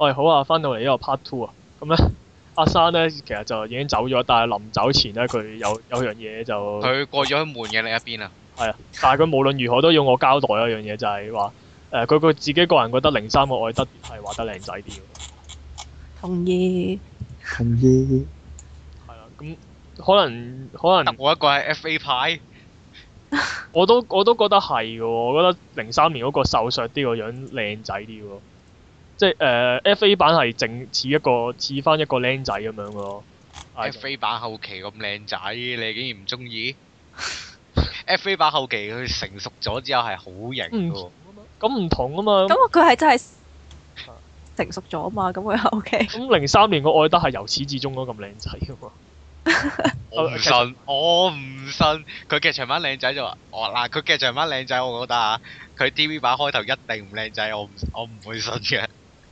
喂，好啊，翻到嚟呢個 part two 啊，咁咧阿生咧其實就已經走咗，但係臨走前咧佢有樣嘢就佢過咗去門嘅另一邊啊。 係啊，但係佢無論如何都要我交代一樣嘢，就係話佢自己個人覺得03個愛德係畫得靚仔啲嘅。 同意。 係啊，咁可能我一個係 FA 派。 我都覺得係嘅喎，我覺得03年嗰個瘦削啲個樣靚仔啲喎，即係FA 版係正似翻一個僆仔咁樣嘅咯。 FA 版後期咁靚仔，你竟然唔中意？FA 版後期佢成熟咗之後係好型嘅。 咁唔同啊嘛。 咁佢係真係成熟咗啊嘛，咁佢 OK。 咁03年個愛德係由始至終都咁靚仔嘅嘛。 我唔信，我唔信。佢劇場版靚仔就話，嗱，佢劇場版靚仔，我覺得啊，佢 TV 版開頭一定唔靚仔，我唔會信嘅。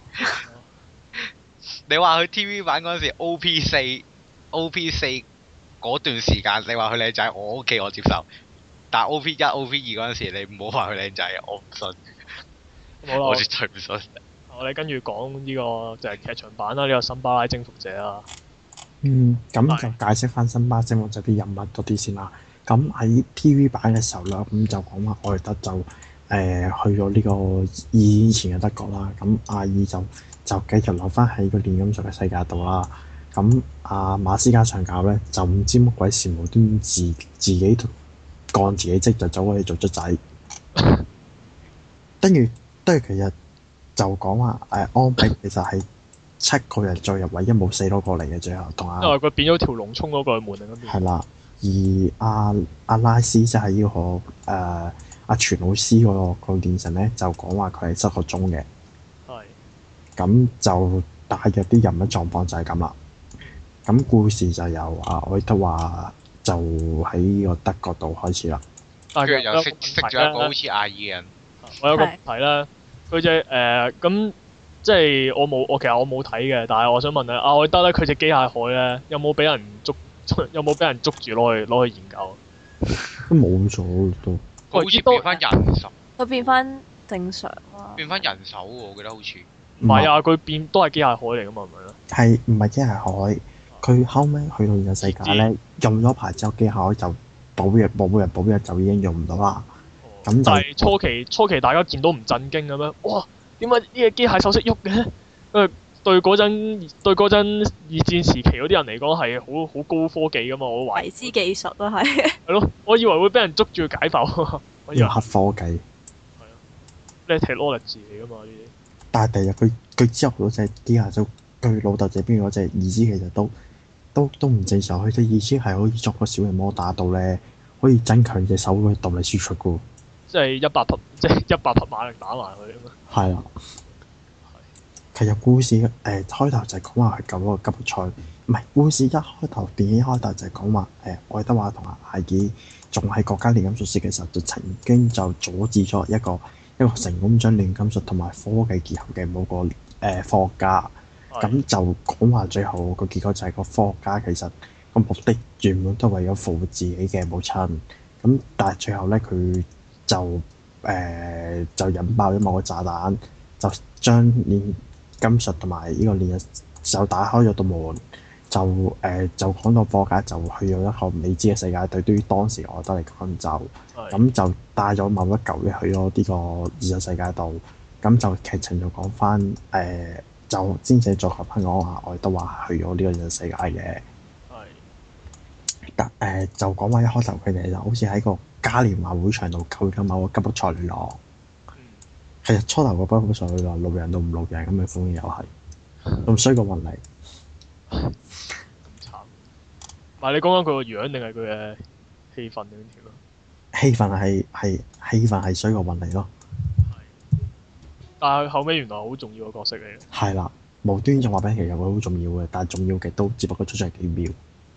你話佢 TV 版嗰陣時 OP4嗰段時間，你話佢靚仔，我 OK 我接受。但 OP1、OP2嗰陣時，你唔好話佢靚仔，我唔信。我絕對唔信。 我哋跟住講呢個就係劇場版啦，呢個辛巴拉征服者啊。 咁就解釋翻辛巴拉征服者啲人物多啲先啦。咁喺 TV 版嘅時候咧，咁就講話愛德就去咗呢個以前嘅德國啦。咁阿爾就繼續留翻喺個煉金術嘅世界度啦。咁阿馬斯加上校咧就唔知乜鬼事無端自己幹自己職就走去做卒仔。跟住其實就講話安比其實係7個人再入唯一冇死到過嚟嘅，最後同因為佢變咗條龍衝咗過去門另一邊。 係啦，而阿拉斯即係呢個阿全老師個練神咧，就講話佢係失個蹤嘅。 係。 咁就大約啲人物狀況就係咁啦。咁故事就由愛德華就喺呢個德國度開始啦。 跟住又識咗一個好似阿爾嘅人。 我有個問題啦，佢隻咁即係我其實我冇睇嘅，但係我想問咧，阿愛德咧佢隻機械海咧有冇俾人捉住攞去研究？ 都冇咗都。 佢好似變翻人手。 佢變翻正常啊。變翻人手喎，我記得好似。 唔係啊，佢變都係機械海嚟噶嘛，係咪咧？ 係唔係機械海？佢後尾去到現實世界咧，用咗牌之後，機械海就保養就已經用唔到啦。咁但係初期大家見到唔震驚嘅咩？哇！點解呢個機械手識喐嘅？對嗰陣二戰時期嗰啲人嚟講係好高科技噶嘛，我懷疑。 迷之技術都係。 係咯，我以為會俾人捉住解剖。 要黑科技。 係啊，呢係 technology 嚟噶嘛呢啲。 但係第日佢之後嗰隻機械就佢老豆這邊嗰隻意思其實都唔正常，佢隻意思係可以作個小型摩打到咧，可以增強隻手嘅動力輸出噶。 即係100匹馬力打埋佢啊嘛。係啊。其實故事開頭就係講話係救嗰個吉普賽，唔係故事電影開頭就係講話愛德華同阿艾爾仲喺國家煉金術師嘅時候，就曾經就阻止咗一個成功將煉金術同埋科技結合嘅某個科學家。咁就講話最後個結果就係個科學家其實個目的原本都係為咗復活自己嘅母親。咁但係最後咧佢就引爆咗某個炸彈，就將煉金術同埋呢個煉術就打開咗道門，就講到科學家就去咗一個未知嘅世界。對於當時我覺得嚟講咁就帶咗某一嚿嘢去咗呢個現實世界度。咁就劇情就講翻就先至再合翻講話愛德華去咗呢個現實世界嘅。但就講話一開頭佢哋就好似喺個嘉年華會場度救咗某個吉普賽女郎。其實初頭個吉普賽女郎路人都唔路人咁嘅風又係咁衰過運嚟。 咁慘。唔係你講緊佢個樣定係佢嘅氣氛點條啊？ 氣氛係衰過運嚟咯。 但係後尾原來好重要嘅角色嚟嘅。係啦，無端仲話俾其實佢好重要嘅，但係重要嘅都只不過出咗幾秒。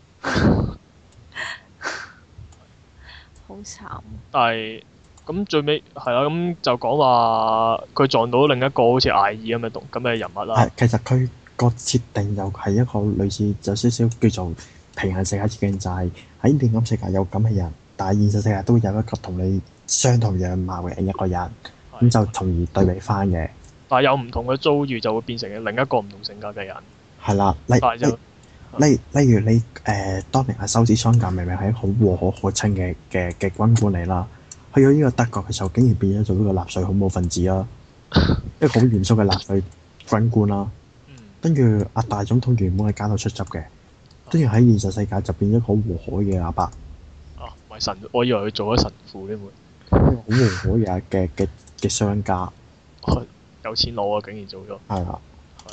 好慘。 但係咁最尾係啦，咁就講話佢撞到另一個好似艾爾咁嘅人物啦。 其實佢個設定又係一個類似有少少叫做平行世界設定，就係喺煉金世界有咁嘅人，但係現實世界都有一個同你相同樣貌嘅一個人。咁就從而對比翻嘅。 但係有唔同嘅遭遇就會變成另一個唔同性格嘅人。 係啦， 但係就例如你當年阿修斯桑格明明係一個好和可可親嘅軍官嚟啦，去咗呢個德國嘅時候，竟然變咗做呢個納粹恐怖分子啦，一個好嚴肅嘅納粹軍官啦。跟住阿大總統原本係奸到出汁嘅，跟住喺現實世界就變咗好和藹嘅阿伯。 啊，唔係神，我以為佢做咗神父添喎。 好和藹嘅商家， 有錢佬啊，竟然做咗。 係啦。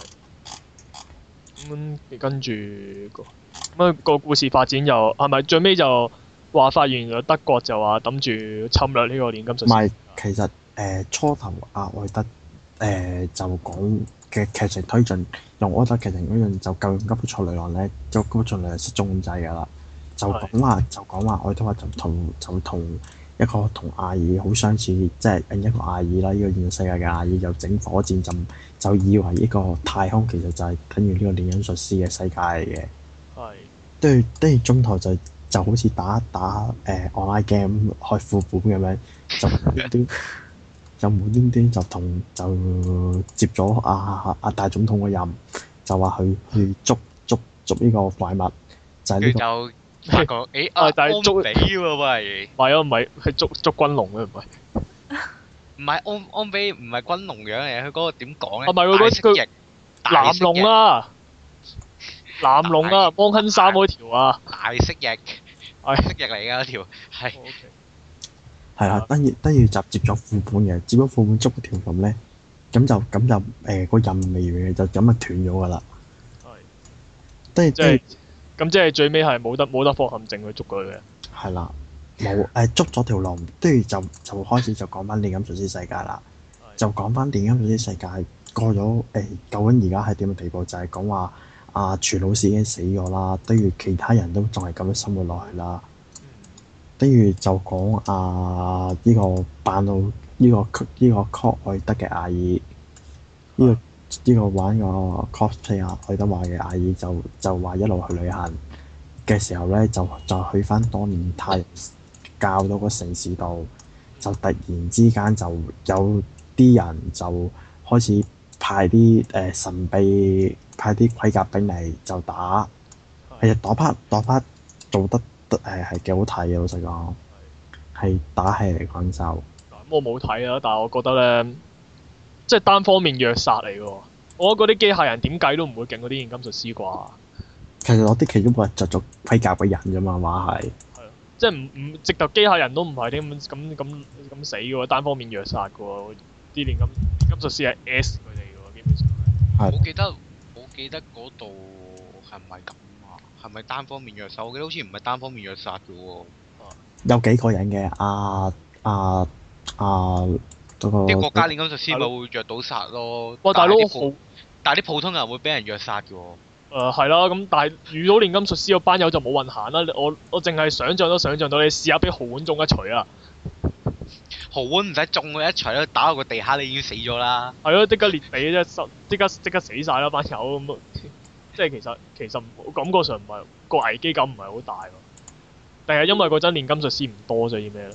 跟住個故事發展又係咪最尾就話發現咗德國就話諗住侵略呢個煉金術師？ 唔係，其實初頭阿愛德就講嘅劇情推進，用愛德劇情推進就救吉卜賽女郎咧，就吉卜賽女郎失蹤咁滯㗎啦。就講話愛德華就同一個同阿爾好相似，即係另一個阿爾啦，呢個現實世界嘅阿爾又整火箭就以為呢個太空其實就係等於呢個煉金術師嘅世界嚟嘅。係。跟住中途就好似打online game 開副本咁樣，就無端端就接咗阿大總統嘅任，就話去捉呢個怪物，就係呢個。 發覺但係捉比喎喂， 唔係啊，唔係係捉軍龍嘅唔係， 唔係安比唔係軍龍樣嚟，佢嗰個點講咧？ 唔係佢藍龍啊，藍龍啊，幫亨三嗰條啊， 大蜥蜴，蜥蜴嚟㗎嗰條係。 係啦，跟住就接咗副本嘅，接咗副本捉嗰條龍咧，咁就個任未完嘅就咁就斷咗㗎啦。係。 咁即係最尾係冇得放陷阱去捉佢嘅。係啦，冇捉咗條龍，跟住就開始就講翻煉金術師世界啦。就講翻煉金術師世界過咗究竟而家係點嘅地步？就係講話阿全老師已經死咗啦，跟住其他人都仲係咁樣生活落去啦。跟住就講呢個扮到呢個柯愛德嘅阿姨，呢個玩個 cosplay 愛德華嘅阿姨就話一路去旅行嘅時候咧，就去翻當年太陽教到個城市度，就突然之間就有啲人就開始派啲神秘派啲盔甲兵嚟就打，其實打 part 做得係幾好睇嘅，老實講係打戲嚟講就。 我冇睇啊，但係我覺得咧。即係單方面虐殺嚟嘅喎，我覺得嗰啲機械人點計都唔會勁嗰啲煉金術師啩。 其實攞啲其中個就做盔甲嘅人啫嘛，話係。係啊， 即係唔直頭機械人都唔係啲咁死嘅喎，單方面虐殺嘅喎，啲煉金術師係 S 佢哋嘅喎，基本上係。 我記得嗰度係咪咁啊？係咪單方面虐殺？我記得好似唔係單方面虐殺嘅喎。 有幾個人嘅啲國家煉金術師咪會虐到殺咯。 哇！大佬但係啲普通人會俾人虐殺嘅喎。 係啦，咁但係遇到煉金術師嗰班友就冇運行啦。我淨係想像到，你試下俾豪碗中一錘啊！ 豪碗唔使中佢一錘啦，打落個地下你已經死咗啦。 係咯，即刻裂地啫，即刻死晒啦班友咁。即係其實感覺上唔係個危機感唔係好大喎。定係因為嗰陣煉金術師唔多，所以咩咧？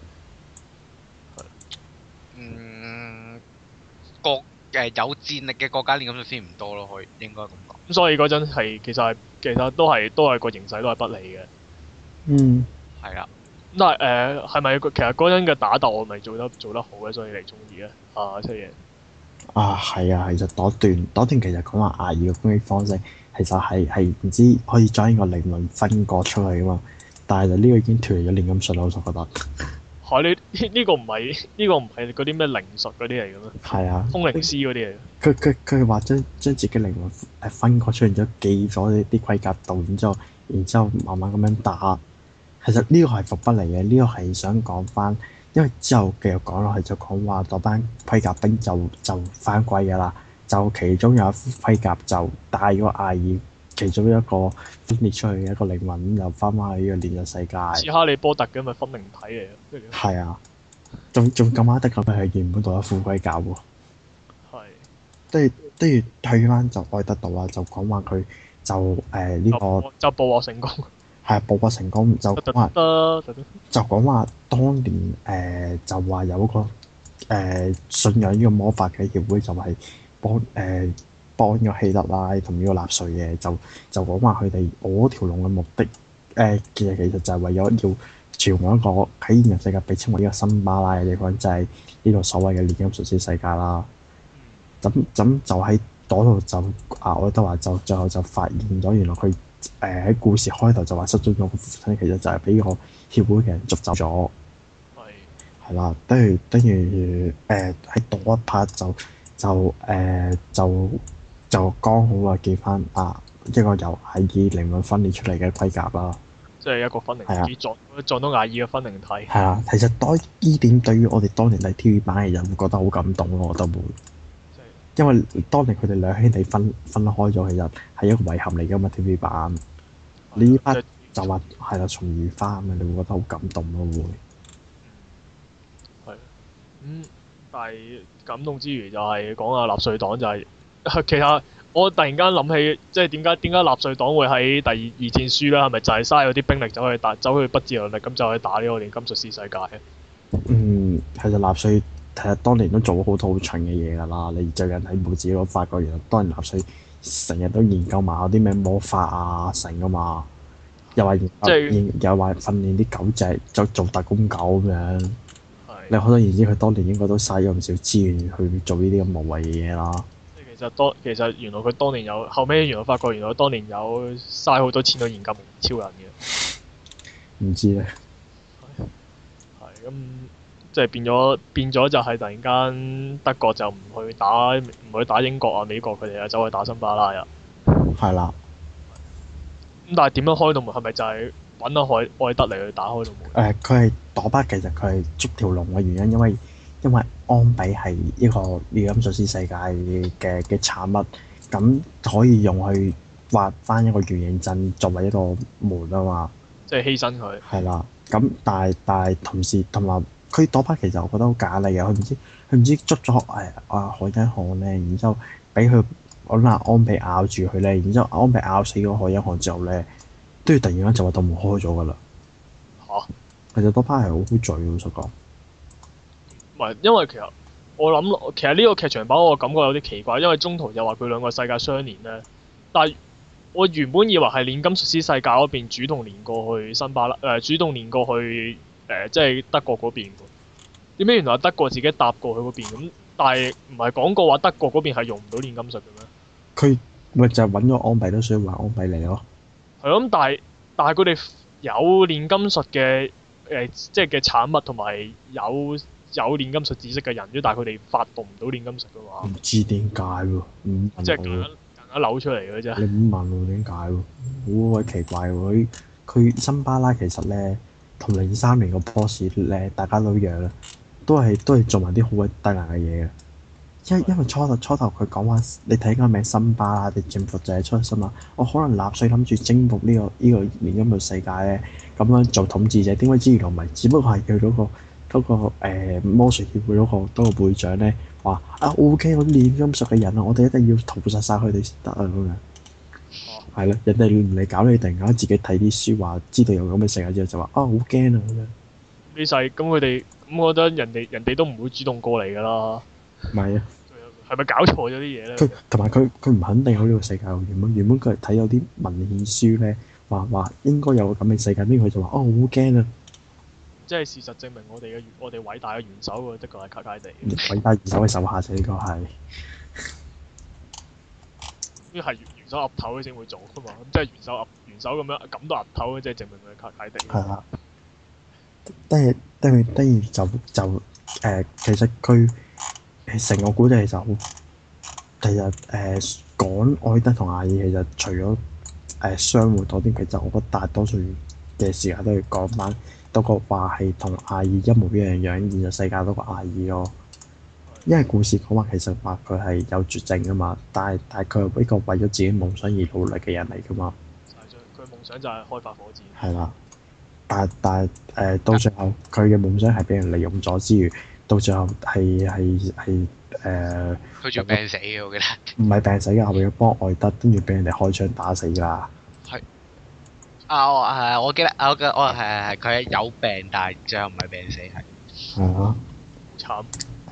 有戰力嘅國家煉金術師唔多咯，應該咁講。 咁所以嗰陣係其實都係個形勢都係不利嘅。 嗯。係啦。 咁但係係咪其實嗰陣嘅打鬥我咪做得好嘅，所以你中意咧？出嘢。係啊，其實嗰段其實講話阿爾嘅攻擊方式，其實係唔知可以將呢個靈魂分割出去噶嘛，但係就呢個已經脫離咗煉金術啦，我就覺得。 呢個唔係嗰啲咩靈術嗰啲嚟嘅咩？係啊，通靈師嗰啲嚟。 佢話將自己靈魂分割出，然之後寄咗啲盔甲度，然之後慢慢咁樣打。其實呢個係伏筆嚟嘅，呢個係想講翻，因為之後繼續講落去就講話嗰班盔甲兵就翻歸㗎啦，就其中有一副盔甲就帶咗阿爾其中一個分裂出去嘅一個靈魂，又翻返去呢個煉術世界。似哈利波特嘅咪分靈體嚟嘅。係啊，仲咁啱得咁係原本度一副盔甲喎。係。跟住退翻就愛德度啦，就講話佢就呢個就捕獲成功。 係捕獲成功就講話當年就話有個信仰呢個魔法嘅協會就係幫咗希特拉同呢個納粹嘅，就講話佢哋我條龍嘅目的其實就係為咗要傳往一個喺現實世界被稱為呢個辛巴拉嘅地方，就係呢個所謂嘅煉金術師世界啦。咁就喺嗰度就愛德華就最後就發現咗，原來佢喺故事開頭就話失蹤咗個父親，其實就係俾個協會嘅人捉走咗。係啦，跟住喺嗰一 part 就剛好啊見翻一個由艾爾靈魂分裂出嚟嘅盔甲啦。 即係一個分靈體撞到艾爾嘅分靈體。 係啊，其實呢點對於我哋當年睇 TV 版嘅人會覺得好感動咯，我覺得會。因為當年佢哋兩兄弟分開咗，其實係一個遺憾嚟㗎嘛 TV 版。呢 part 就話係啦，重遇翻啊，你會覺得好感動咯會。 但係感動之餘就係講下納粹黨就係、其實我突然間諗起，即係點解納粹黨會喺第二戰輸咧？係咪就係嘥咗啲兵力走去不自量力咁就去打呢個煉金術師世界？ 其實納粹其實當年都做咗好多好蠢嘅嘢㗎啦。你最近喺報紙度發覺，原來當年納粹成日都研究埋嗰啲咩魔法啊成㗎嘛，又話又話訓練啲狗隻做特工狗咁樣。你可想而知，佢當年應該都嘥咗唔少資源去做呢啲咁無謂嘅嘢啦。 其實原來佢當年有後尾原來發覺原來佢當年有嘥好多錢去研究超人嘅。 唔知咧。 係咁，即係變咗就係突然間德國就唔去打英國啊美國佢哋啊，走去打辛巴拉啊。 係啦。 咁但係點樣開到門？係咪就係揾到愛德嚟去打開到門？ 佢係朵巴，其實佢係捉條龍嘅原因，因為安比係一個煉金術師世界嘅產物，咁可以用去畫翻一個圓形陣作為一個門啊嘛。 即係犧牲佢。係啦，咁但係同時同埋佢朵巴其實我覺得好假嚟嘅，佢唔知捉咗海因漢咧，然之後俾佢揾安比咬住佢咧，然之後安比咬死咗海因漢之後咧，都要突然間就話道門開咗㗎啦。其實朵巴係好醉，老實講。 唔係，因為其實我諗，其實呢個劇場版我感覺有啲奇怪，因為中途又話佢兩個世界相連咧。但係我原本以為係煉金術師世界嗰邊主動連過去辛巴拉，主動連過去即係德國嗰邊喎。點解原來德國自己搭過去嗰邊咁？但係唔係講過話德國嗰邊係用唔到煉金術嘅咩？佢咪就係揾咗安比都需要還安比嚟咯。 係咯，咁但係佢哋有煉金術嘅即係嘅產物同埋有煉金術知識嘅人，但係佢哋發動唔到煉金術嘅話， 唔知點解喎？ 即係夾硬扭出嚟嘅啫。 你唔問喎點解喎？好鬼奇怪喎！佢辛巴拉其實咧，同03年個 boss 咧，大家都一樣啦，都係做埋啲好鬼低能嘅嘢嘅。因為初頭佢講話，你睇個名辛巴拉，你政府就係出心啦。我可能納粹諗住征服呢個煉金術世界咧，咁樣做統治者，點解知原來唔係？只不過係佢嗰個魔術協會嗰個會長咧話OK，我啲煉金術嘅人啊，我哋一定要屠殺晒佢哋先得啊咁樣。係咯，人哋唔嚟搞你，突然間自己睇啲書話知道有咁嘅世界之後就話好驚啊咁樣。 呢世咁佢哋咁，我覺得人哋都唔會主動過嚟㗎啦。 唔係啊。 係咪搞錯咗啲嘢咧？ 佢同埋佢唔肯定有呢個世界。原本佢係睇有啲文獻書咧，話應該有個咁嘅世界，邊佢就話好驚啊！即係事實證明我哋偉大嘅元首喎，的確係卡卡地。 偉大元首嘅手下仔，呢個係。 呢係元首岌頭先會做㗎嘛？即係元首咁樣咁都岌頭，即係證明佢係卡卡地。係啦。 跟住就其實佢。成個古仔其實好，其實講愛德同阿爾其實除咗相互多啲，其實我覺得大多數嘅時間都要講翻多個話係同阿爾一模一樣，現實世界多個阿爾咯。因為故事講話其實話佢係有絕症噶嘛，但係佢係一個為咗自己夢想而努力嘅人嚟噶嘛。 佢夢想就係開發火箭。係啦，但係到最後佢嘅夢想係俾人利用咗之餘。到最後係佢仲病死嘅，我記得。 唔係病死嘅，後邊要幫愛德，跟住俾人哋開槍打死㗎。 係。我記得，我係佢係有病，但係最後唔係病死係。 係啊。慘。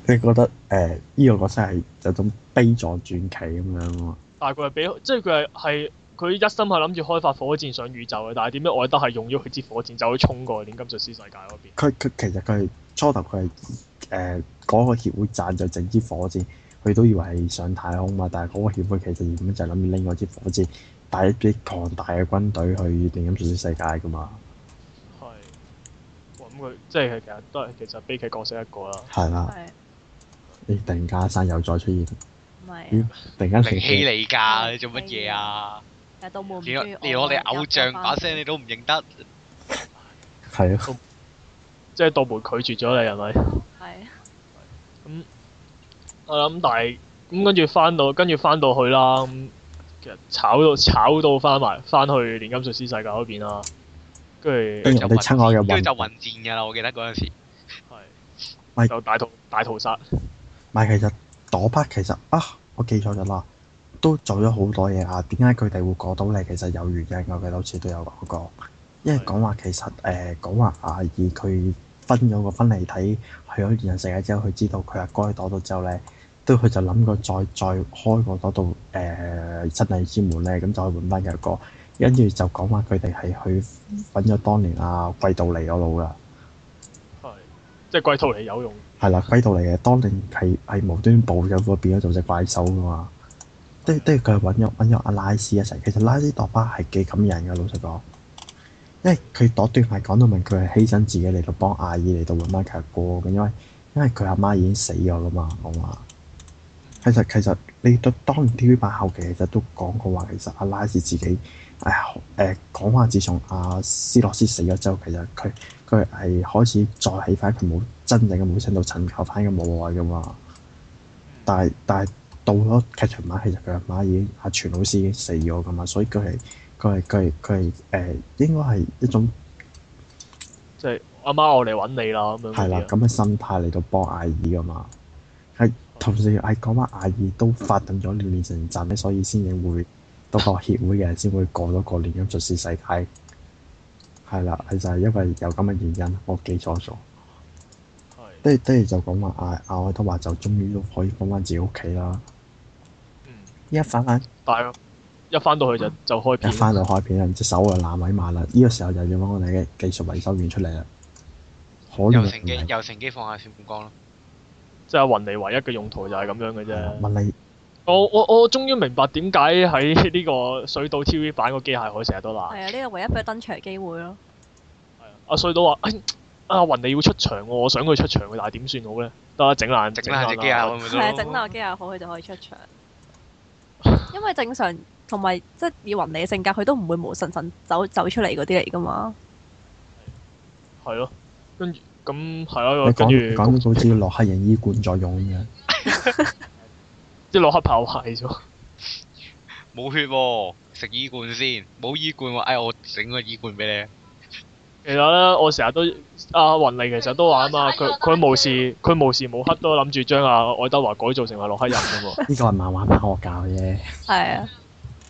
你覺得呢個角色係有種悲壯傳奇咁樣喎？ 但係佢係俾即係佢一心係諗住開發火箭上宇宙嘅，但係點解愛德係用咗佢支火箭走去衝過去煉金術師世界嗰邊？ 佢其實佢係初頭佢係嗰個協會贊助整支火箭，佢都以為係上太空嘛，但係嗰個協會其實原本就係諗住拎嗰支火箭帶一啲龐大嘅軍隊去煉金術師世界㗎嘛。 係。咁佢即係其實都係其實悲劇角色一個啦。 係啦。 係。 你突然間阿生又再出現。 唔係。 突然間靈氣嚟㗎，你做乜嘢啊？ 到冇連我哋偶像把聲你都唔認得。 係啊。 即係道門拒絕咗你係咪？ 係。 咁我諗，但係咁跟住翻到去啦。咁其實炒到翻去煉金術師世界嗰邊啦。跟住就親我嘅跟住就混戰㗎啦！我記得嗰陣時。 係。就大屠殺。 唔係，其實嗰 part 其實我記錯咗啦，都做咗好多嘢啊！點解佢哋會過到嚟？其實有原因，我記得好似都有講過。因為講話其實講話阿爾佢分咗個分離體去咗現實世界之後，佢知道佢阿哥喺嗰度之後咧，佢就諗過再開個嗰度真理之門咧，咁就可以換翻佢哥。跟住就講話佢哋係去揾咗當年阿貴道尼嗰度㗎。 係，即係貴道尼有用。 係啦，貴道尼嘅當年係無端暴咗個變咗做隻怪獸㗎嘛。即係佢揾咗阿拉斯一齊。其實拉斯朵巴係幾感人㗎，老實講。因為佢嗰段係講到明，佢係犧牲自己嚟到幫阿爾嚟到揾翻佢阿哥嘅，因為佢阿媽已經死咗啦嘛，講話。其實你當年 TV 版後期其實都講過話，其實阿拉斯自己講話，自從阿斯洛斯死咗之後，其實佢係開始再起翻佢冇真正嘅母親度尋求翻嘅母愛噶嘛。但係到咗劇場版，其實佢阿媽已經阿全老師已經死咗噶嘛，所以佢係應該係一種即係阿媽我嚟揾你啦咁樣。 係啦，咁嘅心態嚟到幫阿爾噶嘛。係同時係講話阿爾都發動咗煉成陣咧，所以先至會到個協會嘅人先會過咗個煉金術師世界。係啦，係就係因為有咁嘅原因，我記錯咗。係。跟住就講話阿愛德華就終於都可以翻返自己屋企啦。一翻返。 但係一翻到去就開片。 一翻到開片啦，隻手就爛位埋啦。呢個時候就要揾我哋嘅技術維修員出嚟啦。 又乘機放下小半光咯。 即係雲尼唯一嘅用途就係咁樣嘅啫。 問你， 我終於明白點解喺呢個水島 TV 版個機械海成日都爛。 係啊，呢個唯一俾佢登場機會咯。 係啊，阿水島話：阿雲尼要出場喎，我想佢出場嘅，但係點算好咧？得啦，整爛隻機械海。 係啊，整爛個機械海佢就可以出場。因為正常同埋即係以雲尼嘅性格，佢都唔會無神神走出嚟嗰啲嚟㗎嘛。 係咯，跟住。咁係咯， 你跟住講到好似洛克人醫罐作用咁樣， 即係洛克炮壞咗， 冇血喎，食醫罐先，冇醫罐喎，我整個醫罐俾你。 其實咧，我成日都阿雲妮其實都話啊嘛，佢無時無刻都諗住將阿愛德華改造成為洛克人㗎喎。 呢個係漫畫版惡教啫。 係啊。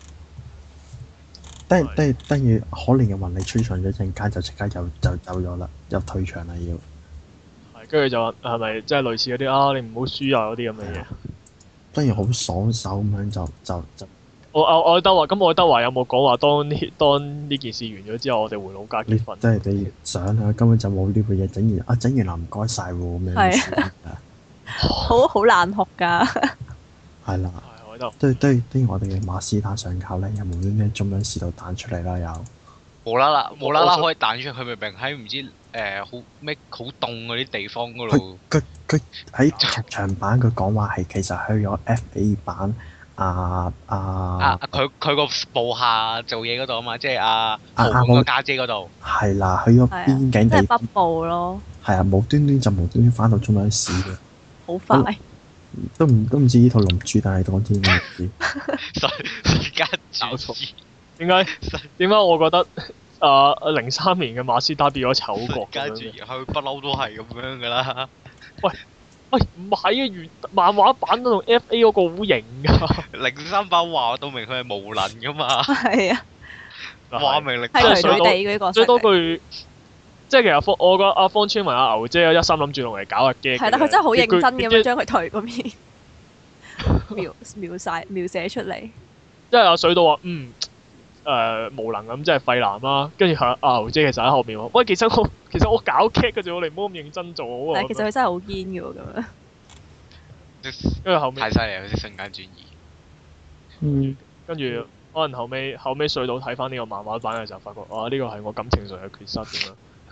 跟住可憐嘅雲妮出場咗陣間就即刻就走咗啦，又退場啦要。 係，跟住就話係咪即係類似嗰啲你唔好輸啊嗰啲咁嘅嘢。 跟住好爽手咁樣就。 愛德華咁愛德華有冇講話當呢件事完咗之後，我哋回老家結婚？ 即係你想啊，根本就冇呢個嘢整完啦，唔該晒喎咁樣。 係啊。好難學㗎。 係啦。對我哋嘅馬斯坦上校咧，又無端端中央試到彈出嚟啦，又無啦啦可以彈出去，佢明明喺唔知好凍嗰啲地方嗰度。 佢喺劇場版佢講話係其實去咗 FA 版佢個部下做嘢嗰度啊嘛，即係阿豪個家姐嗰度。 係啦，去咗邊境地。 即係北部咯。 係啊，無端端翻到中央市嘅。 好快。 都唔知呢套龍珠，但係講天嘅事。 時間搞錯。 點解我覺得03年嘅馬斯達變咗醜角咁樣？ 佢不嬲都係咁樣噶啦。 喂，唔係啊！漫畫版都同 FA 嗰個好型㗎。03 版話到明佢係無能噶嘛。 係啊。 話明力。 係佢哋嗰個。 最多句即係其實我覺得阿方川文阿牛姐一心諗住用嚟搞下 gag 係啦，佢真係好認真咁樣即將佢頹嗰面描寫出嚟。 係阿水道話無能咁，即係廢男啦。跟住阿牛姐其實喺後面話：喂，其實我搞 gag 嘅啫，我哋唔好咁認真做好啊。 但係其實佢真係好堅嘅喎，咁樣。 跟住後面太犀利啦！啲瞬間轉移。 跟住可能後尾水道睇翻呢個漫畫版嘅時候，發覺呢個係我感情上嘅缺失咁樣。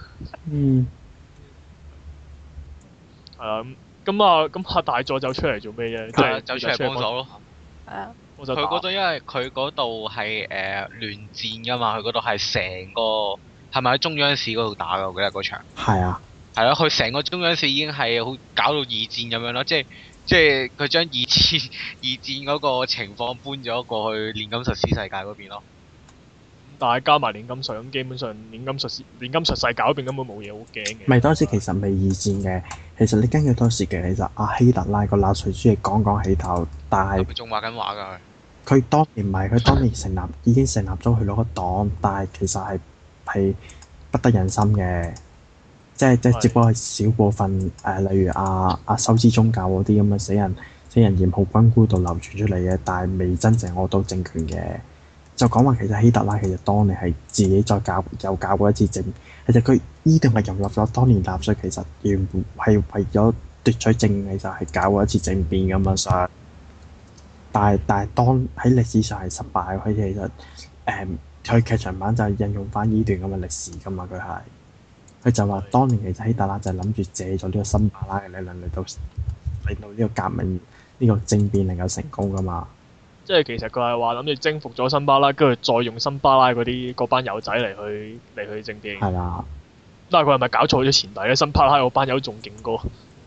係啊，咁阿大佐走出嚟做咩啫？即係走出嚟幫手咯。 係啊。 佢嗰度因為佢嗰度係聯戰㗎嘛，佢嗰度係成個係咪喺中央市嗰度打㗎？我記得嗰場。係啊。係咯，佢成個中央市已經係好搞到二戰咁樣咯，即係佢將二戰嗰個情況搬咗過去煉金術師世界嗰邊咯。 但係加埋煉金術咁，基本上煉金術世界嗰邊根本冇嘢好驚嘅。 唔係當時其實未二戰嘅，其實你根據當時嘅其實阿希特拉個納粹主義講起頭，但係仲畫緊畫㗎佢當年唔係佢當年已經成立咗佢攞個黨，但係其實係不得人心嘅，即係只不過係少部分例如阿修之宗教嗰啲咁嘅死人染號軍官度流傳出嚟嘅，但係未真正攞到政權嘅。就講話其實希特拉其實當年係自己又搞過一次政，其實佢呢定係融入咗當年納粹，其實原本係為咗奪取政權，就係搞過一次政變咁樣上。但係當喺歷史上係失敗，佢其實佢劇場版就係引用翻呢段咁嘅歷史㗎嘛，佢就話當年其實希特拉就係諗住借咗呢個森巴拉嘅理論嚟到呢個革命呢個政變能夠成功㗎嘛。 即係其實佢係話諗住征服咗森巴拉，跟住再用森巴拉嗰班友仔嚟去政變。 係啦。 但係佢係咪搞錯咗前提咧？森巴拉嗰班友仲勁過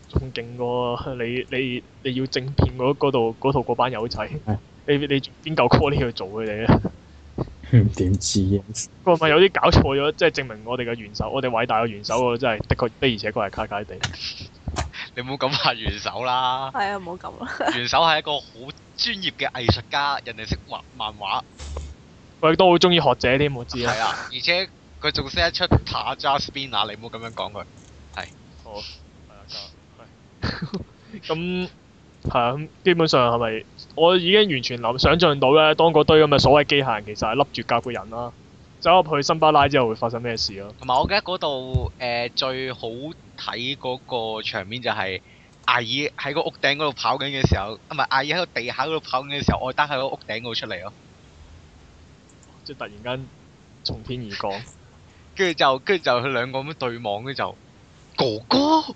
你要政變嗰度嗰班友仔。你邊夠 call 呢去做佢哋咧？ 點知啊？ 佢係咪有啲搞錯咗？即係證明我哋嘅元首，我哋偉大嘅元首真係的確而且確係卡卡地。 你唔好咁話元首啦。 係啊，唔好咁啦。 元首係一個好專業嘅藝術家，人哋識畫漫畫。 佢亦都好中意學者添，我知啊。 係啊，而且佢仲識得出塔扎 spinner， 你唔好咁樣講佢。係。 好。係啊，咁係啊，基本上係咪？我已經完全想像到咧，當嗰堆咁嘅所謂機械人其實係笠住甲嘅人啦，走入去森巴拉之後會發生咩事咯？ 同埋我記得嗰度最好睇嗰個場面就係艾爾喺個屋頂嗰度跑緊嘅時候，唔係艾爾喺個地下嗰度跑緊嘅時候，愛德喺個屋頂嗰度出嚟咯。 即係突然間從天而降， 跟住就佢兩個咁樣對望，跟住就哥哥。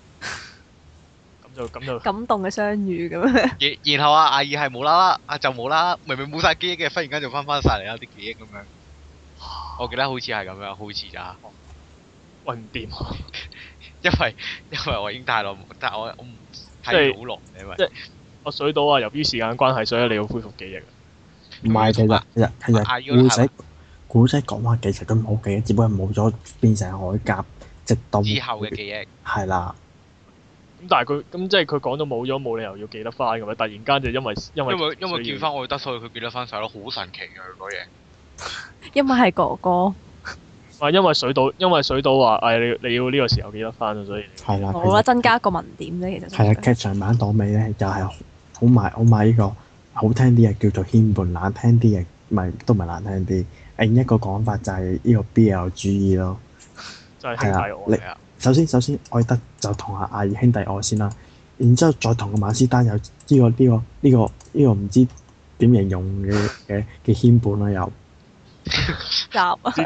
咁就感動嘅相遇咁樣。 然後阿艾爾係無啦啦，就無啦啦，明明冇晒記憶嘅，忽然間就翻晒嚟啦啲記憶咁樣。我記得好似係咁樣，好似咋。 喂，唔掂啊！ 因為我已經太耐，但係我唔睇好耐，因為即係我水到啊，由於時間關係，所以你要恢復記憶。 唔係，其實古仔講話其實佢冇記憶，只不過冇咗變成鎧甲，直到之後嘅記憶。 係啦。 咁但係佢咁即係佢講到冇咗，冇理由要記得翻㗎嘛！突然間就因為見翻愛德，所以佢記得翻晒咯，好神奇㗎佢嗰嘢。 因為係哥哥。 因為水島話你要呢個時候記得翻啊，所以係啦。 好啦，增加一個文點啫，其實。 係啊，劇場版到尾咧，又係好賣呢個好聽啲嘅叫做牽絆，難聽啲嘅都唔係難聽啲。另一個講法就係呢個 BL 主義咯。 就係兄弟愛啊！ 首先，愛德就同阿艾爾兄弟愛先啦，然之後再同個馬斯丹有呢個唔知點形容嘅牽絆啦又。 夾啊！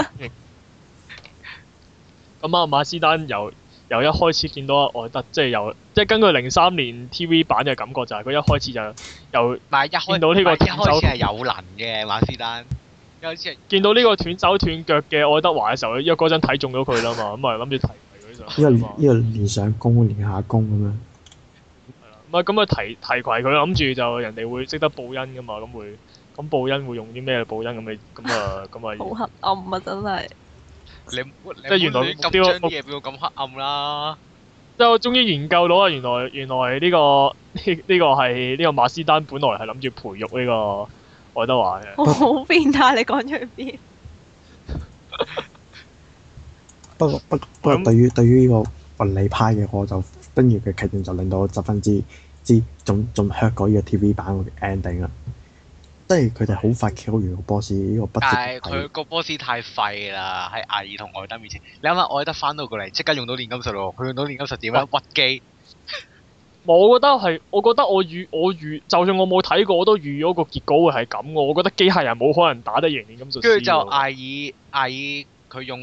咁啊，馬斯丹由一開始見到阿愛德，即係根據03年 TV 版嘅感覺就係佢一開始就由見到呢個斷手係有能嘅馬斯丹，一開始見到呢個斷手斷腳嘅愛德華嘅時候，因為嗰陣睇中咗佢啦嘛，咁啊諗住提攜佢上。呢個練上弓練下弓咁樣。 係啦，咁啊提攜佢，諗住就人哋會識得報恩噶嘛，咁報恩會用啲咩報恩咁啊？ 好黑暗啊！真係。 即係原來咁將啲嘢變到咁黑暗啦！ 即係我終於研究到啊！原來呢個係呢個馬斯丹本來係諗住培育呢個愛德華嘅。 好變態！你講咗去邊？ 不過對於呢個雲理派嘅，我就跟住嘅劇情就令到我十分之仲 hurt 過呢個 TV 版嘅 ending 啦。即係佢哋好快 kill 完個 boss 呢個不值但係佢個 boss 太廢啦，喺艾爾同愛德面前。你諗下，愛德翻到過嚟即刻用到煉金術咯，佢用到煉金術點樣屈機？ 我覺得我預，就算我冇睇過，我都預咗個結果會係咁嘅。我覺得機械人冇可能打得贏煉金術師。 跟住就艾爾佢用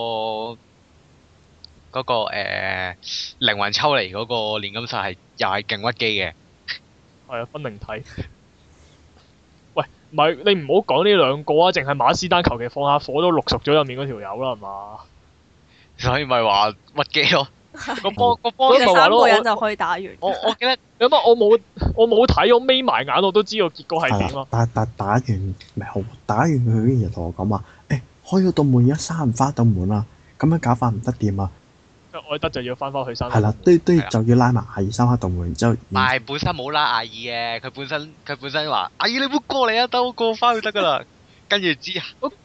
嗰個靈魂抽離嗰個煉金術係又係勁屈機嘅。 係啊，分靈體。喂，唔係你唔好講呢兩個啊，淨係馬斯丹求其放下火都淥熟咗入面嗰條友啦，係嘛？ 所以咪話屈機咯。個波其實三咪話咯個人就可以打完。 我記得有乜我冇睇，我眯埋眼我都知道結果係點咯。 但打完咪好，打完佢竟然同我講話，開咗道門而家閂唔翻道門啊，咁樣搞法唔得掂啊！ 愛德就要翻去閂。 係啦，都就要拉埋阿爾閂翻道門，然之後。 唔係本身冇拉艾爾嘅，佢本身話艾爾你唔好過嚟啊，等我過翻去得㗎啦。跟住之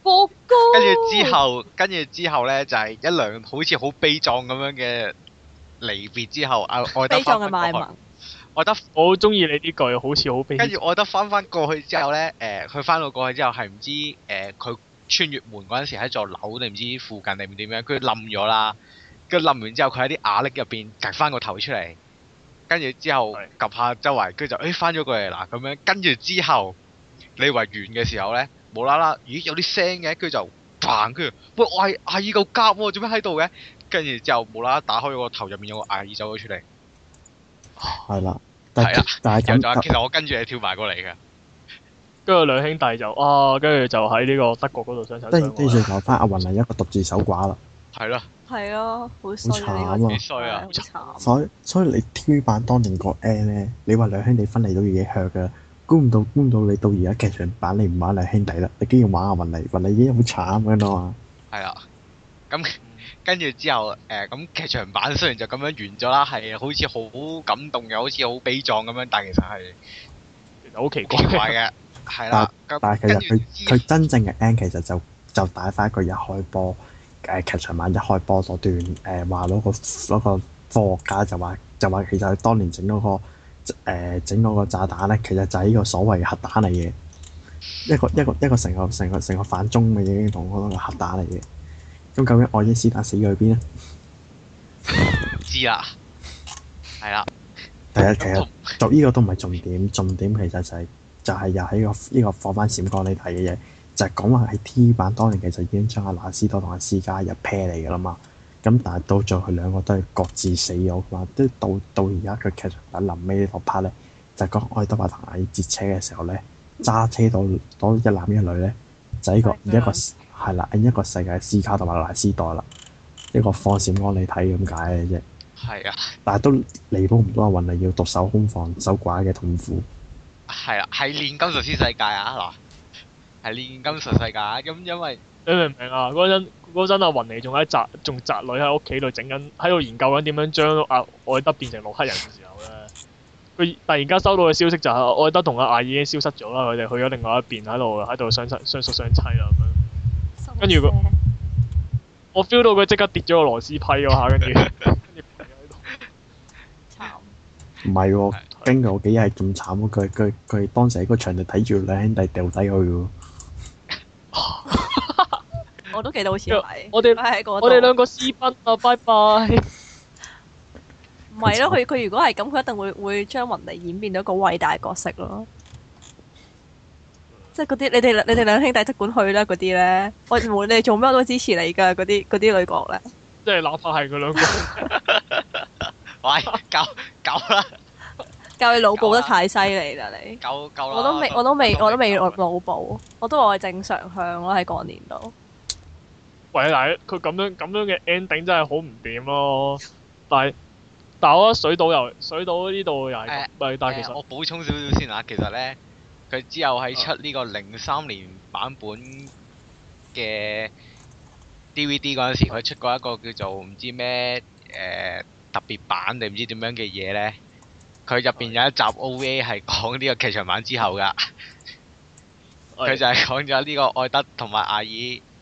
後咧就係一兩好似好悲壯咁樣嘅離別之後，愛德悲壯嘅賣萌。 我好中意你呢句，好似好悲。 跟住愛德翻過去之後咧，佢翻到過去之後係唔知佢穿越門嗰陣時喺座樓定唔知附近定唔點樣，佢冧咗啦。跟住冧完之後，佢喺啲瓦礫入邊趌翻個頭出嚟，跟住之後及下周圍，跟住就翻咗過嚟啦咁樣。跟住之後，你以為完嘅時候咧，無啦啦，咦有啲聲嘅，跟住就嘭，跟住喂我係艾爾嚿甲喎，做咩喺度嘅？跟住之後無啦啦打開咗個頭，入面有個艾爾走咗出嚟。 係啦， 係啦， 但係咁， 其實我跟住你跳埋過嚟嘅。 跟住兩兄弟就跟住就喺呢個德國嗰度相親相愛。 跟住留翻阿雲係一個獨自守寡啦。 係咯。 係啊，好衰啊！呢個幾衰啊！ 好慘。 所以你 TV 版當年個 N 咧，你話兩兄弟分離都已經 hurt 㗎，估唔到你到而家劇場版你唔玩兩兄弟啦，你竟然玩阿雲麗已經好慘㗎啦嘛。係啊，咁跟住之後咁劇場版雖然就咁樣完咗啦，係好似好感動又好似好悲壯咁樣，但其實係好奇怪嘅，係啦。 但係其實佢真正嘅 N 其實就帶翻一個一開波。劇場版一開波嗰段話攞個科學家就話其實佢當年整嗰個炸彈咧，其實就係呢個所謂嘅核彈嚟嘅，一個成個反中嘅已經同嗰個核彈嚟嘅。咁究竟愛因斯坦死咗去邊咧？ 知啦，係啦。 其實做呢個都唔係重點，重點其實就係又喺呢個放翻閃光你睇嘅嘢。就係講話喺 TV 版當年其實已經將阿納斯多同阿斯嘉入 pair 嚟㗎啦嘛，咁但係到最後佢兩個都係各自死咗嘛，都到而家佢劇場版臨尾呢個 part 咧，就講愛德華同阿爾截車嘅時候咧，揸車到一男一女咧，就一個係啦，一個世界斯卡同埋納斯多啦，一個放閃光你睇咁解嘅啫。係啊，但係都彌補唔到阿雲麗要獨守空房守寡嘅痛苦。 係啦，係煉金術師世界啊嗱。係煉金術世界，咁因為你明唔明啊？嗰陣阿雲妮仲宅女喺屋企度喺度研究緊點樣將阿愛德變成洛克人嘅時候咧，佢突然間收到嘅消息就係愛德同阿艾已經消失咗啦，佢哋去咗另外一邊喺度相宿相棲啦咁樣。跟住我 feel 到佢即刻跌咗個螺絲批嗰下，跟住慘。 唔係喎，經過幾日係咁慘喎，佢當時喺個場度睇住兩兄弟掉低去喎。 我都記得好似係。 我哋兩個私奔啊！拜拜。 唔係咯，佢如果係咁，佢一定會將雲妮演變到一個偉大角色咯。即係嗰啲你哋兩兄弟即管去啦，嗰啲咧，我無論你哋做咩我都支持你㗎，嗰啲女角咧。 即係哪怕係佢兩個。 喂，夠啦！ 教你腦補得太犀利啦你。夠啦！我都未腦補，我都話我係正常向咯喺嗰年度。 喂，但係佢咁樣嘅 ending 真係好唔掂咯。但我覺得水島呢度又係但係其實我補充少少先啊，其實咧佢之後喺出呢個03年版本嘅 DVD 嗰陣時，佢出過一個叫做唔知咩特別版定唔知點樣嘅嘢咧。佢入邊有一集 OVA 係講呢個劇場版之後噶，佢就係講咗呢個愛德同埋艾爾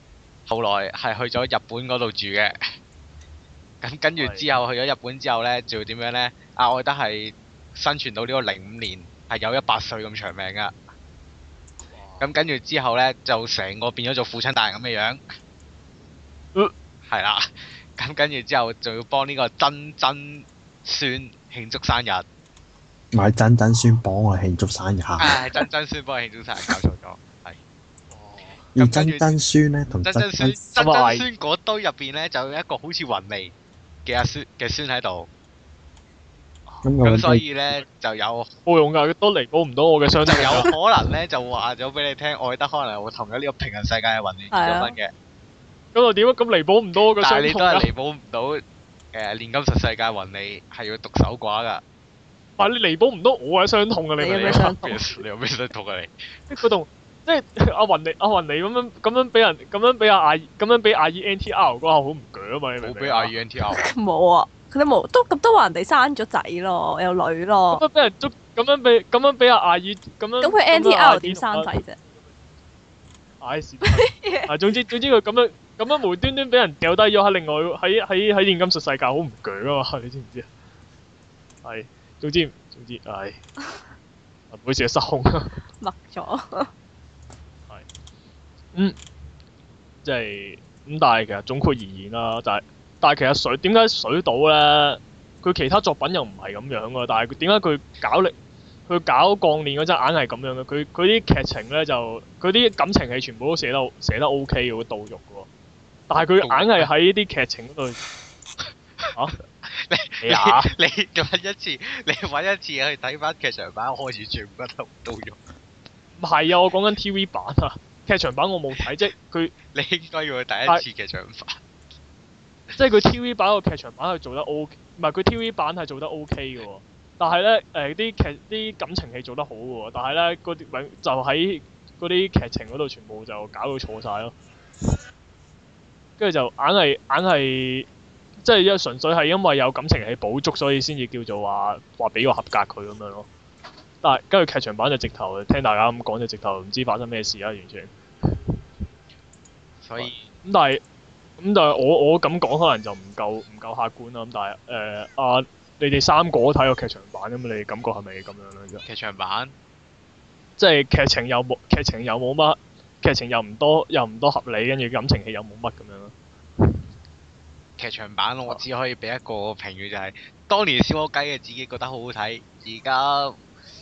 後來係去咗日本嗰度住嘅。咁跟住之後去咗日本之後咧，就要點樣咧？阿愛德係生存到呢個05年，係有100歲咁長命噶。咁跟住之後咧，就成個變咗做父親大人咁嘅樣。係啦。咁跟住之後，仲要幫呢個曾曾孫慶祝生日。 唔係曾曾孫幫我慶祝生日。 係曾曾孫幫佢慶祝生日，搞錯咗。係。 而曾曾孫咧同曾曾孫嗰堆入邊咧，就有一個好似雲尼嘅阿孫嘅孫喺度。咁所以咧就有冇用㗎，都彌補唔到我嘅傷。 就有可能咧就話咗俾你聽，愛德可能會同咗呢個平行世界嘅雲尼結咗婚嘅。 咁又點啊？咁彌補唔到我嘅傷。 但係你都係彌補唔到煉金術世界雲尼係要獨守寡㗎。 但係你彌補唔到我嘅傷痛啊！你有咩傷痛？ 你有咩傷痛啊？你嗰度即係阿雲尼咁樣俾人咁樣俾阿姨 NTR 嗰下好唔鋸啊嘛！你明唔明？ 冇俾阿姨 NTR。 冇啊！佢都冇，都話人哋生咗仔咯，有女咯。 咁樣俾人捉，咁樣俾阿姨咁樣。 咁佢 NTR 點生仔啫？ 唉，是但。總之佢咁樣無端端俾人掉低咗喺另外喺煉金術世界好唔鋸啊嘛！你知唔知啊？係，總之，唉，每次失控。 默咗。 係。即係咁，但係其實總括而言啦，但係其實點解水島咧？佢其他作品又唔係咁樣㗎，但係點解佢搞鋼鍊嗰陣硬係咁樣嘅？佢啲劇情咧就佢啲感情戲全部都寫得 OK 嘅，會導肉嘅喎。但係佢硬係喺啲劇情嗰度嚇。 你揾一次去睇翻劇場版，開始全部都導肉。 唔係啊！我講緊 TV 版啊，劇場版我冇睇，即係佢。 你應該要去第一次劇場版。 即係佢 TV 版個劇場版係做得 OK，唔係佢 TV 版係做得 OK 嘅喎。但係咧啲感情戲做得好嘅喎，但係咧嗰啲就喺嗰啲劇情嗰度全部就搞到錯晒咯。跟住就硬係即係純粹係因為有感情戲補足，所以先至叫做話俾個合格佢咁樣咯。但係跟住劇場版就直頭聽大家咁講就直頭唔知發生咩事啦，完全。 所以咁但係我咁講可能就唔夠客觀啦。咁但係你哋三個都睇過劇場版咁，你哋感覺係咪咁樣咧？ 劇場版即係劇情又冇乜，劇情又唔多合理，跟住感情戲又冇乜咁樣咯。 劇場版我只可以俾一個評語，就係當年小學雞嘅自己覺得好好睇，而家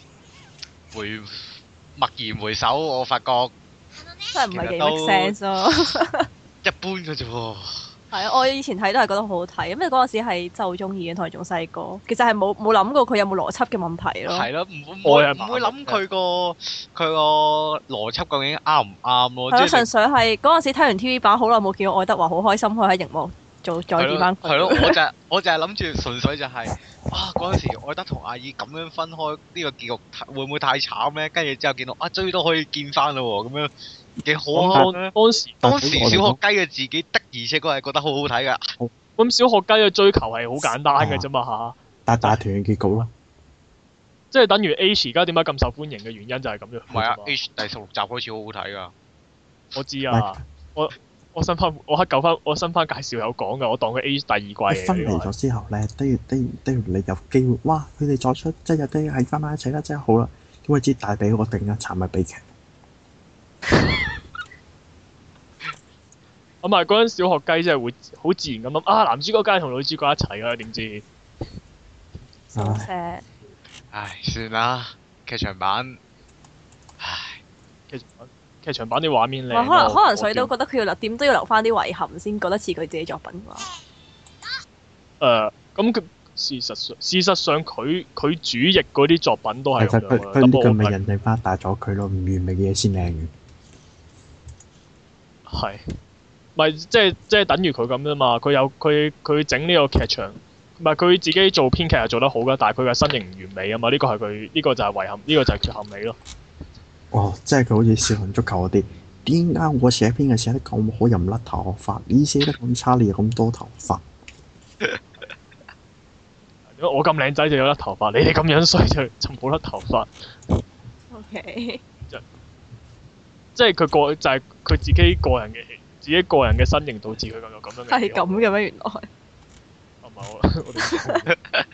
默然回首，我發覺真係唔係幾 make sense 咯。 一般嘅啫喎。係啊，我以前睇都係覺得好好睇，因為嗰陣時係就中意嘅，同埋仲細個，其實係冇諗過佢有冇邏輯嘅問題咯。係咯， 唔會諗佢個邏輯究竟啱唔啱咯。 係咯，純粹係嗰陣時睇完 TV 版，好耐冇見到愛德華，好開心可以喺熒幕再見翻佢。係咯， 我就係諗住純粹就係嗰陣時愛德同阿姨咁樣分開，呢個結局會唔會太慘咧？跟住之後見到終於都可以見翻啦喎，咁樣。幾好啊！當時小學雞嘅自己的，而且確係覺得好好睇噶。 咁小學雞嘅追求係好簡單嘅啫嘛嚇。 大團圓結局啦。 即係等於 H 而家點解咁受歡迎嘅原因就係咁樣。 唔係啊 ，H 第16集開始好好睇噶。 我知啊，我新番介紹有講噶，我當佢 H 第二季嚟嘅。 分離咗之後咧，都要你有機會，哇！佢哋再出即係都要喺翻埋一齊啦，真係好啦。點會知大髀嗰個定一慘嘅悲劇？ 咁啊！嗰陣小學雞真係會好自然咁諗男主角梗係同女主角一齊㗎，點知？ 唉，算啦，劇場版。 劇場版啲畫面靚。 可能水都覺得佢要點都要留翻啲遺憾先，覺得似佢自己作品啩。 咁佢事實上佢主役嗰啲作品都係咁樣嘅。 佢呢個咪人哋花大咗佢咯，唔完美嘅嘢先靚嘅。 係。咪即係等於佢咁啫嘛，佢整呢個劇場，唔係佢自己做編劇係做得好㗎，但係佢嘅身形唔完美啊嘛，呢個就係遺憾，呢個就係缺陷美咯。 即係佢好似少林足球嗰啲，點解我寫編嘅寫得咁好又唔甩頭髮？你寫得咁差，你又咁多頭髮？ 我咁靚仔就有甩頭髮，你哋咁樣衰就冇甩頭髮。 OK。 即係佢就係佢自己個人嘅自己個人嘅身形導致佢有咁樣嘅。 係咁嘅咩？原來唔係我哋。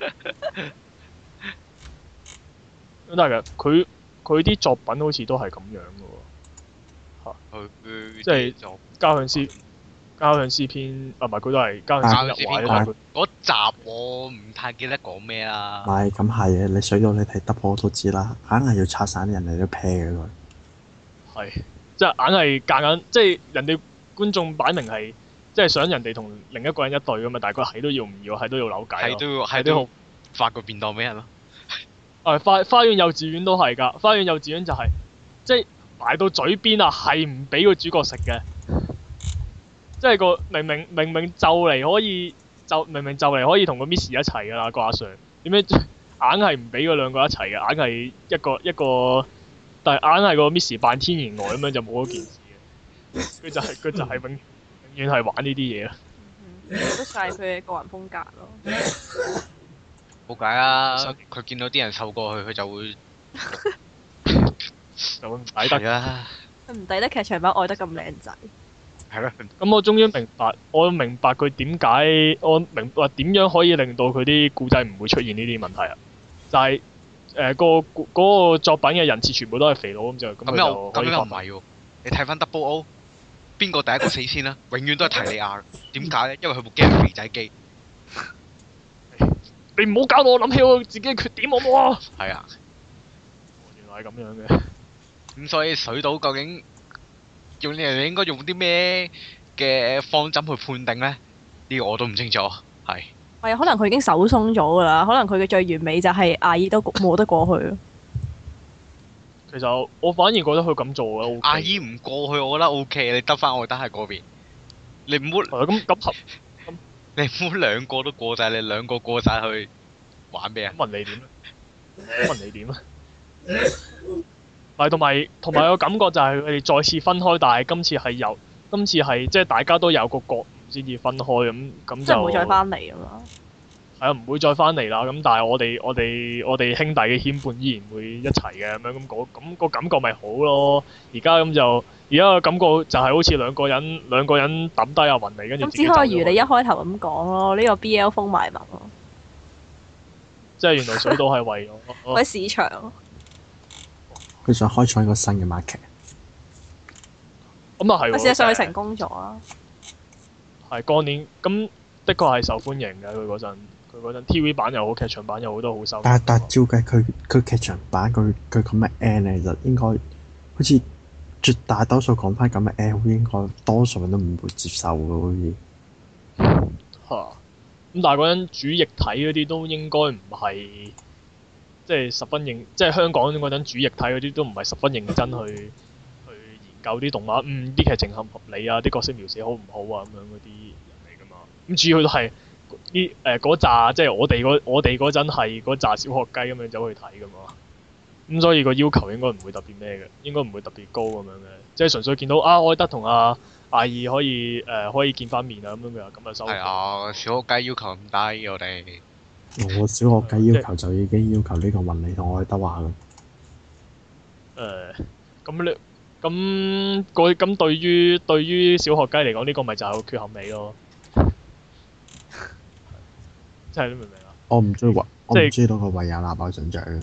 咁但係佢啲作品好似都係咁樣嘅喎。即係交響詩篇啊，唔係佢都係交響詩日華嗰集我唔太記得講咩啦。 唔係咁係嘅，你水到你睇 double 都知啦，硬係要拆散啲人哋都 pair 嘅佢。 係，即係硬係夾硬，即係人哋觀眾擺明係，即係想人哋同另一個人一對噶嘛，但係佢係都要唔要，係都要扭計咯。 係都要發個便當俾人咯。 花園幼稚園都係㗎，花園幼稚園就係、即係埋到嘴邊啊，係唔俾個主角食嘅。即係個明明就嚟可以可以同個 Miss 一齊㗎啦，個阿 Sir 點解硬係唔俾嗰兩個一齊嘅？硬係一個，但係硬係個 Miss 扮天然呆咁樣就冇嗰件事嘅。佢就係永遠係玩呢啲嘢咯。 都晒佢嘅個人風格咯。 冇計啊！佢見到啲人瘦過去，佢就會唔抵得啦。 佢唔抵得劇場版愛得咁靚仔。 係咯。 咁我終於明白佢點解，我明白點樣可以令到佢啲故仔唔會出現呢啲問題啊！就係嗰個作品嘅人設全部都係肥佬咁就咁又唔係喎？你睇翻 Double O， 邊個第一個死先啦？永遠都係提利亞。點解咧？因為佢部機係肥仔機。 你唔好搞到我諗起我自己嘅缺點好唔好啊？ 係啊。 原來係咁樣嘅。 咁所以水島究竟人哋應該用啲咩嘅方針去判定咧？呢個我都唔清楚。係。 係啊，可能佢已經手鬆咗㗎啦。可能佢嘅最完美就係阿姨都冇得過去咯。 其實我反而覺得佢咁做嘅 OK。 阿姨唔過去，我覺得 OK。你得翻我得喺嗰邊。你唔好。 咁你唔好兩個都過晒，你兩個過晒去玩咩啊？ 問你點咧？問你點咧？係同埋個感覺就係佢哋再次分開，但係今次係即係大家都有個覺悟先至分開咁就。 即係唔會再翻嚟啊嘛！ 係啊，唔會再翻嚟啦。咁但係我哋兄弟嘅牽絆依然會一齊嘅咁樣咁個感覺咪好咯。而家個感覺就係好似兩個人抌低阿雲嚟，跟住。咁只可以如你一開頭咁講咯，呢個 BL 風賣萌咯。 即係原來水島係為咗為市場。 佢想開創一個新嘅 market。 咁啊係喎。 事實上佢成功咗啊。 係過年咁的確係受歡迎嘅，佢嗰陣 TV 版又好，劇場版又好，都好收。 但照計佢劇場版佢咁嘅 end 其實應該好似絕大多數講翻咁嘅 end， 應該多數人都唔會接受嘅好似。 嚇！咁但係嗰陣主液體嗰啲都應該唔係即係十分認，即係香港嗰陣主液體嗰啲都唔係十分認真去研究啲動畫，啲劇情合唔合理啊，啲角色描寫好唔好啊咁樣嗰啲人嚟㗎嘛。咁主要都係啲嗰扎，即係我哋嗰陣係嗰扎小學雞咁樣走去睇㗎嘛。咁所以個要求應該唔會特別咩嘅，應該唔會特別高咁樣嘅，即係純粹見到愛德同阿艾爾可以見翻面啊咁樣嘅，咁就收。係啊，小學雞要求咁低我哋。 我小學雞要求就已經要求呢個雲理同愛德華啦。 咁對於小學雞嚟講，呢個咪就係個缺陷美咯。即係你明唔明啊？ 我唔中意到個維也納爆上獎嘅。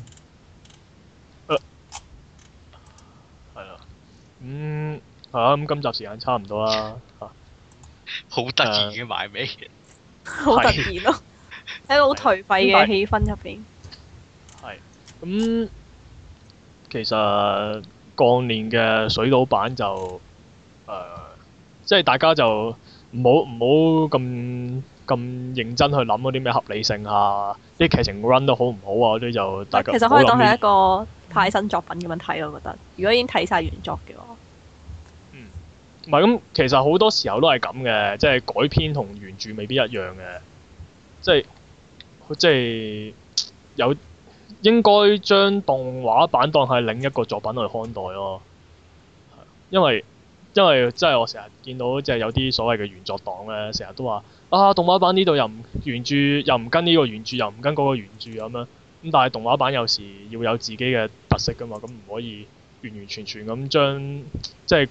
係啦。咁今集時間差唔多啦。 好突然嘅埋尾。 好突然咯！喺個好頹廢嘅氣氛入邊。 係。咁其實過年嘅水島版就即係大家就唔好咁認真去諗嗰啲咩合理性啊，啲劇情 run 得好唔好啊嗰啲就大家。 其實可以當係一個派新作品咁樣睇，我覺得。如果已經睇晒原作嘅話。 唔係咁，其實好多時候都係咁嘅，即係改編同原著未必一樣嘅，即係有應該將動畫版當係另一個作品去看待咯。因為即係我成日見到即係有啲所謂嘅原作黨咧，成日都話動畫版呢度原著又唔跟呢個原著，又唔跟嗰個原著咁樣。咁但係動畫版有時要有自己嘅特色㗎嘛，咁唔可以完完全全咁將即係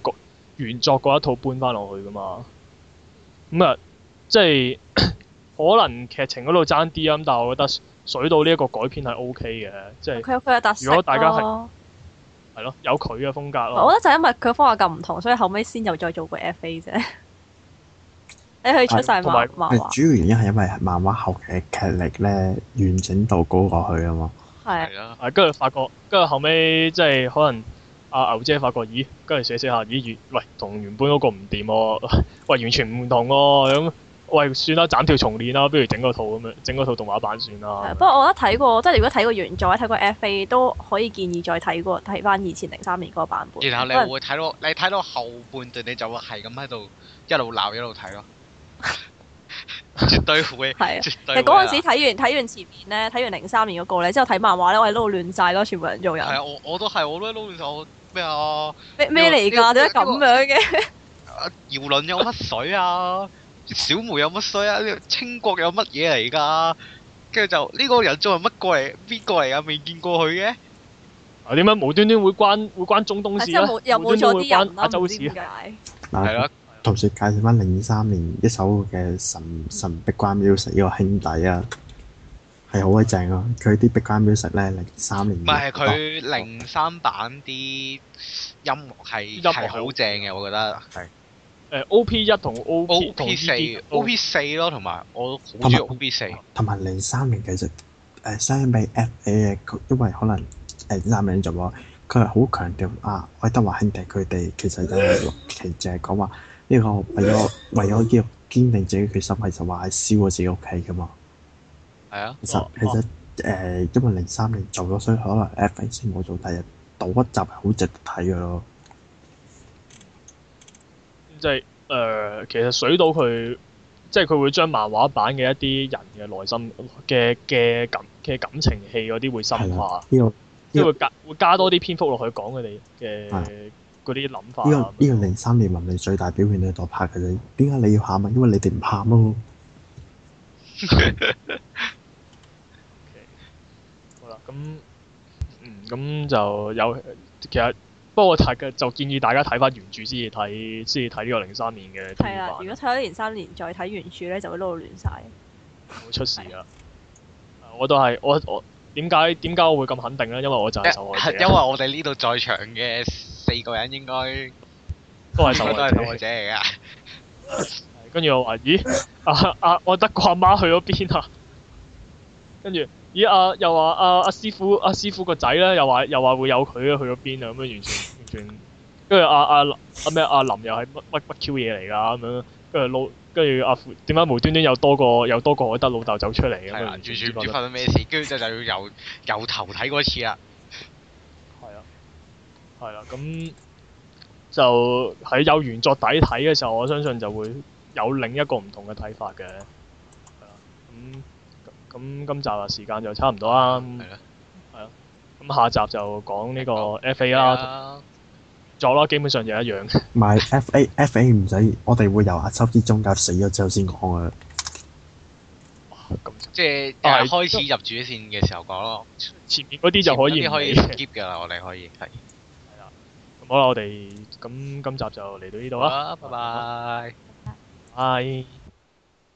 原作嗰一套搬翻落去噶嘛。咁啊，即係可能劇情嗰度爭啲啊，但係我覺得水島呢一個改編係 O K 嘅，即係佢有佢嘅特色如果大家係咯。 係咯，有佢嘅風格咯。 我覺得就係因為佢嘅風格咁唔同，所以後尾先又再做過 FA 啫。你可以出晒同埋漫畫。 主要原因係因為漫畫後嘅劇力咧完整度高過去啊嘛。 係係啊， 跟住發覺，跟住後尾即係可能阿牛姐發覺，咦，跟住寫下，咦，喂，同原本嗰個唔掂喎，喂，完全唔同喎，咁，喂，算啦，斬條重練啦，不如整個套咁樣，整個套動畫版算啦。 不過我覺得睇過，即係如果睇過原作、睇過 FA 都可以建議再睇翻以前03年嗰個版本。 然後你會睇到後半段，你就會係咁喺度一路鬧一路睇咯。絕對會， 係啊， 絕其對會實嗰陣時睇完前面咧，睇完03年嗰個咧，之後睇漫畫咧，我係撈亂晒咯，全部人做人。 係啊，我都係，我都撈亂晒，我咩啊？ 咩嚟㗎？點解咁樣嘅？ 姚倫有乜水啊？小梅有乜水啊？清國有乜嘢嚟㗎？跟住就呢個人做係乜過嚟？邊個嚟㗎？未見過佢嘅。 啊，點解無端端會關中東事咧？ 又冇咗啲人啦， 亞洲事唔知點解。 係咯。 同時介紹翻03年一首嘅神壁關 music 呢個兄弟啊，係好鬼正啊！佢啲壁關 music 咧03年。 唔係佢03版啲音樂係好正嘅，我覺得係。 OP1 同 OP4 咯，同埋我好中意 OP4。 同埋03年其實相比 FA 嘅，因為可能3年做咗，佢係好強調啊愛德華兄弟佢哋其實其實就係講話。呢個為咗呢個堅定自己決心，係就話係燒咗自己屋企噶嘛。 係啊。 其實因為03年做咗，所以可能 FA 先冇做，第日倒一集係好值得睇嘅咯。 即係其實水島佢即係佢會將漫畫版嘅一啲人嘅內心嘅感情戲嗰啲會深化。 呢個即係會加多啲篇幅落去講佢哋嘅嗰啲諗法。 呢個03年文理最大表現喺度拍嘅啫。點解你要喊啊？因為你哋唔喊咯。 好啦，咁就有其實不過我就建議大家睇翻原著先至睇呢個03年嘅。 係啦，如果睇咗03年再睇原著咧，就會撈到亂晒。 會出事㗎。我都係我點解我會咁肯定咧？因為我就係受害者。 因為我哋呢度在場嘅4個人應該都係受害者嚟㗎。 跟住我話：咦，我得個阿媽去咗邊啊？跟住咦又話阿師傅個仔咧，又話會有佢去咗邊啊？咁樣完全，跟住阿林又係乜 Q 嘢嚟㗎咁樣，跟住點解無端端又多個海德老豆走出嚟咁樣？ 完全唔知發生咩事，跟住就要由頭睇嗰次啦。 係啦，咁就喺有原作底睇嘅時候，我相信就會有另一個唔同嘅睇法嘅。係啦，咁今集嘅時間就差唔多啦。係啦，咁下集就講呢個 FA 啦，作啦，基本上就一樣。 唔係 FA 唔使，我哋會由阿秋之中介死咗之後先講啊。 即係開始入主線嘅時候講咯。 前面嗰啲就可以 skip 㗎啦，我哋可以係。 係啦，咁好啦，我哋咁今集就嚟到呢度啦。 拜拜。 拜。